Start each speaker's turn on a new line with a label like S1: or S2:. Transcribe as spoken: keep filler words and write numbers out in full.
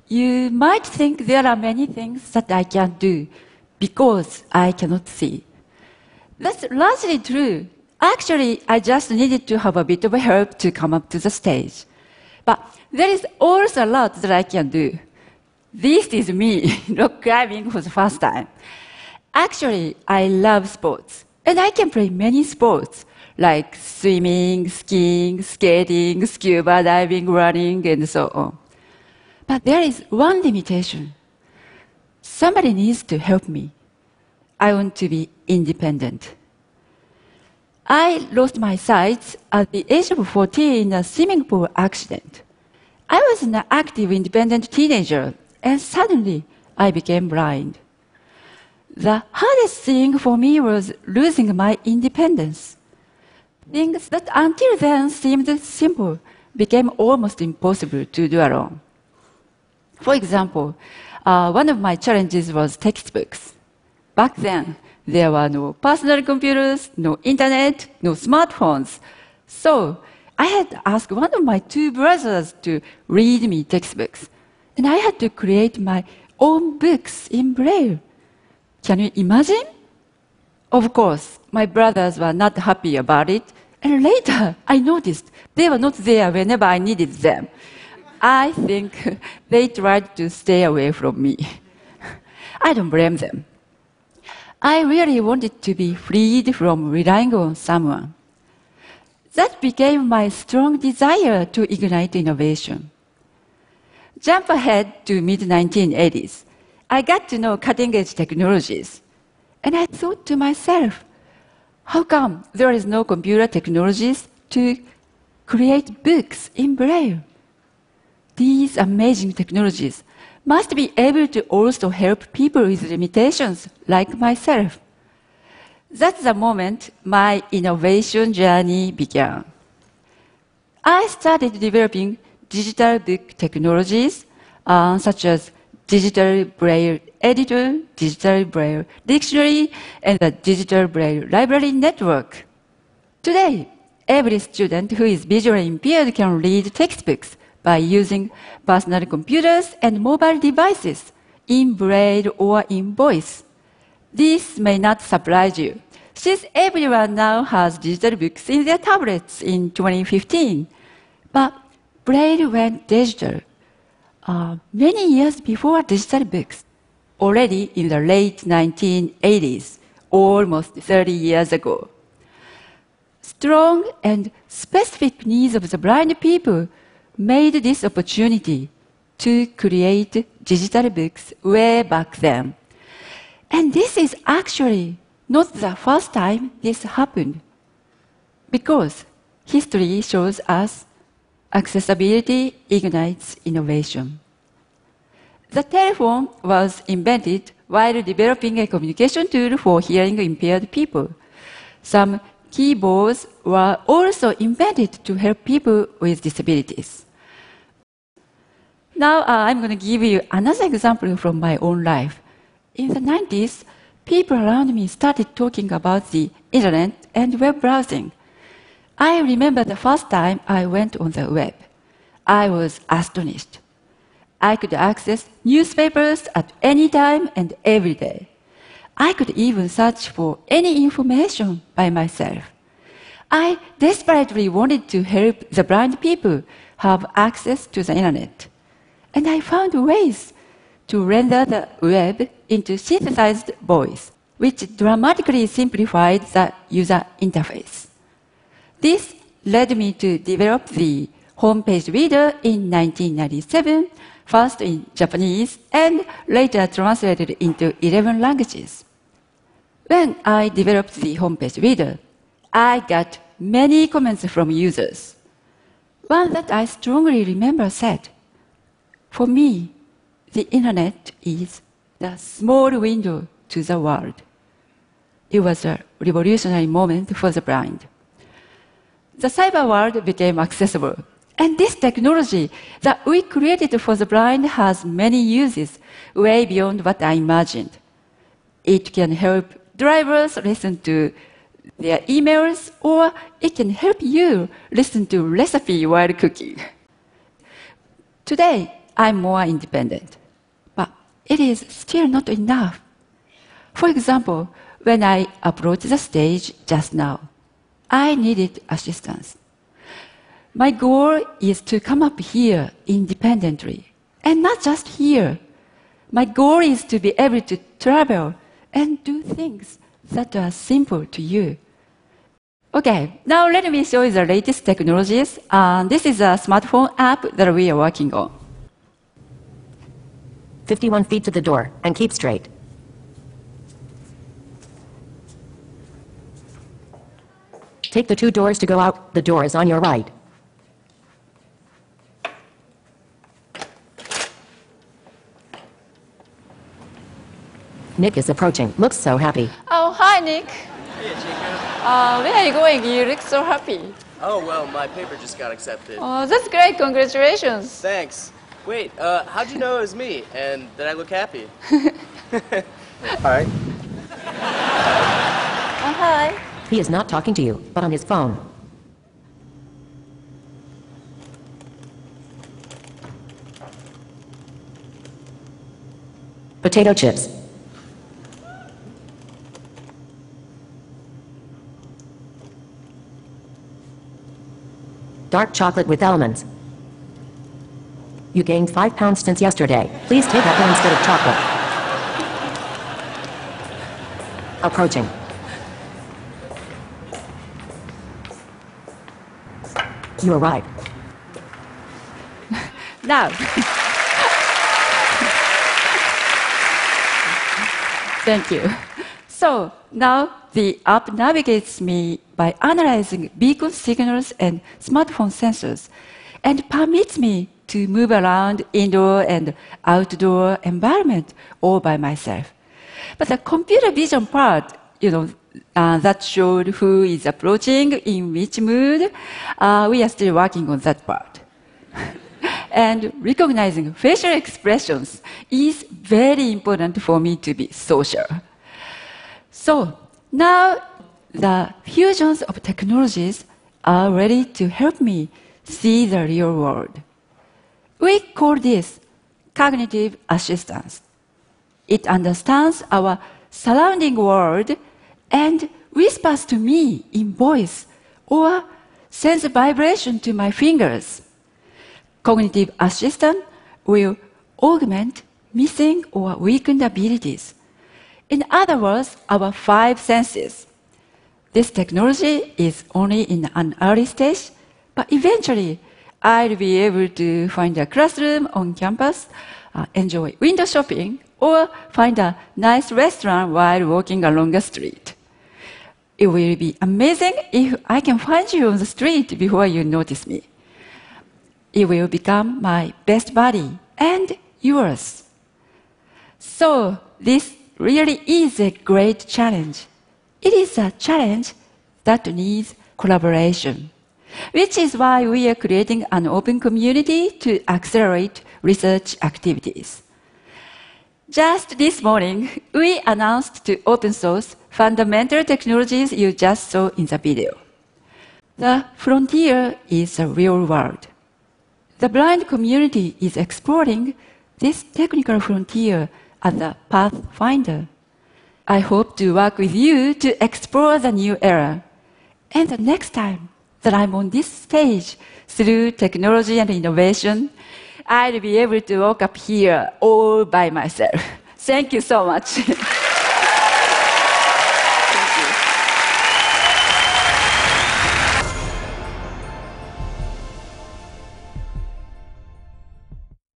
S1: You might think there are many things that I can't do because I cannot see. That's largely true. Actually, I just needed to have a bit of help to come up to the stage. But there is also a lot that I can do. This is me, rock climbing for the first time. Actually, I love sports, and I can play many sports, like swimming, skiing, skating, scuba diving, running, and so on. But there is one limitation. Somebody needs to help me. I want to be independent. I lost my sight at the age of fourteen in a swimming pool accident. I was an active, independent teenager, and suddenly I became blind. The hardest thing for me was losing my independence. Things that until then seemed simple became almost impossible to do alone. For example, uh, one of my challenges was textbooks. Back then, there were no personal computers, no internet, no smartphones. So I had to ask one of my two brothers to read me textbooks. And I had to create my own books in Braille. Can you imagine? Of course, my brothers were not happy about it. And later, I noticed they were not there whenever I needed them. I think they tried to stay away from me. I don't blame them. I really wanted to be freed from relying on someone. That became my strong desire to ignite innovation. Jump ahead to mid nineteen eighties. I got to know cutting-edge technologies. And I thought to myself, how come there is no computer technologies to create books in Braille? These amazing technologies must be able to also help people with limitations like myself. That's the moment my innovation journey began. I started developing digital book technologies uh, such as Digital Braille Editor, Digital Braille Dictionary, and the Digital Braille Library Network. Today, every student who is visually impaired can read textbooks by using personal computers and mobile devices in Braille or in voice. This may not surprise you, since everyone now has digital books in their tablets in twenty fifteen. But Braille went digital uh, many years before digital books, already in the late nineteen eighties, almost thirty years ago. Strong and specific needs of the blind people made this opportunity to create digital books way back then. And this is actually not the first time this happened, because history shows us accessibility ignites innovation. The telephone was invented while developing a communication tool for hearing impaired people. Some keyboards were also invented to help people with disabilities. Now, uh, I'm going to give you another example from my own life. In the nineties, people around me started talking about the internet and web browsing. I remember the first time I went on the web. I was astonished. I could access newspapers at any time and every day. I could even search for any information by myself. I desperately wanted to help the blind people have access to the internet. And I found ways to render the web into synthesized voice, which dramatically simplified the user interface. This led me to develop the homepage reader in nineteen ninety-seven, first in Japanese and later translated into eleven languages. When I developed the homepage reader, I got many comments from users. One that I strongly remember said, "For me, the internet is the small window to the world." It was a revolutionary moment for the blind. The cyber world became accessible, and this technology that we created for the blind has many uses way beyond what I imagined. It can help drivers listen to their emails, or it can help you listen to recipe while cooking. Today, I'm more independent. But it is still not enough. For example, when I approached the stage just now, I needed assistance. My goal is to come up here independently. And not just here. My goal is to be able to travel and do things that are simple to you. Okay, now let me show you the latest technologies. Uh, this is a smartphone app that we are working on.
S2: fifty-one feet to the door, and keep straight. Take the two doors to go out. The door is on your right. Nick is approaching. Looks so happy.
S1: Oh, hi, Nick.
S3: Hey, Chico.
S1: Uh, where are you going? You look so happy.
S3: Oh, well, my paper just got accepted.
S1: Oh, that's great. Congratulations.
S3: Thanks. Wait, uh, how'd you know it was me and that I look happy? All right.
S1: Oh, hi.
S2: He is not talking to you, but on his phone. Potato chips. Dark chocolate with almonds. You gained five pounds since yesterday. Please take apple instead of chocolate. Approaching. You arrived.
S1: Now. Thank you. So now the app navigates me by analyzing beacon signals and smartphone sensors and permits me to move around indoor and outdoor environment all by myself. But the computer vision part, you know, uh, that showed who is approaching in which mood, uh, we are still working on that part. And recognizing facial expressions is very important for me to be social. So now the fusions of technologies are ready to help me see the real world. We call this cognitive assistance. It understands our surrounding world and whispers to me in voice or sends a vibration to my fingers. Cognitive assistant will augment missing or weakened abilities. In other words, our five senses. This technology is only in an early stage, but eventually I'll be able to find a classroom on campus, uh, enjoy window shopping, or find a nice restaurant while walking along a street. It will be amazing if I can find you on the street before you notice me. It will become my best buddy and yours. So this really is a great challenge. It is a challenge that needs collaboration, which is why we are creating an open community to accelerate research activities. Just this morning, we announced to open source fundamental technologies you just saw in the video. The frontier is the real world. The blind community is exploring this technical frontier as a pathfinder. I hope to work with you to explore the new era. And the next time that I'm on this stage through technology and innovation, I'll be able to walk up here all by myself. Thank you so much.